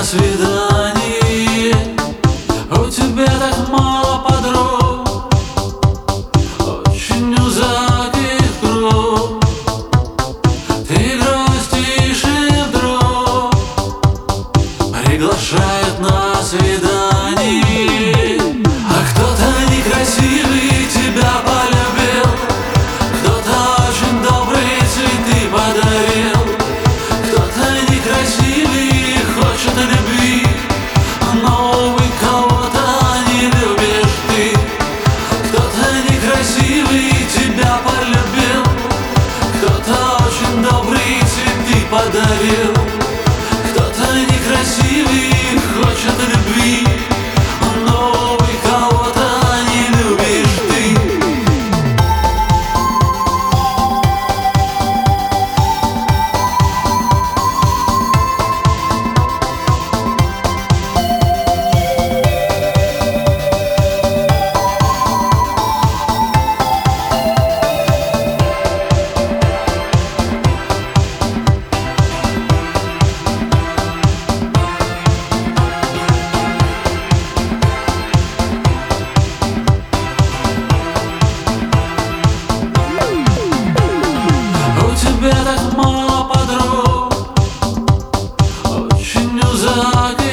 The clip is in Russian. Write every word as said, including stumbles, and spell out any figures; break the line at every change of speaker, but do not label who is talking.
свидании. У тебя так мало подруг, очень узкий круг. Ты грустишь и вдруг приглашает на свидание. А кто-то некрасивый тебя полюбил, кто-то очень добрые цветы подарил, кто-то некрасивый хочет любви, но увы, кого-то не любишь ты. Кто-то некрасивый тебя полюбил, кто-то очень добрые цветы подарил, кто-то некрасивый хочет любви, но увы, кого-то не любишь ты. У тебя так мало подруг, очень узкий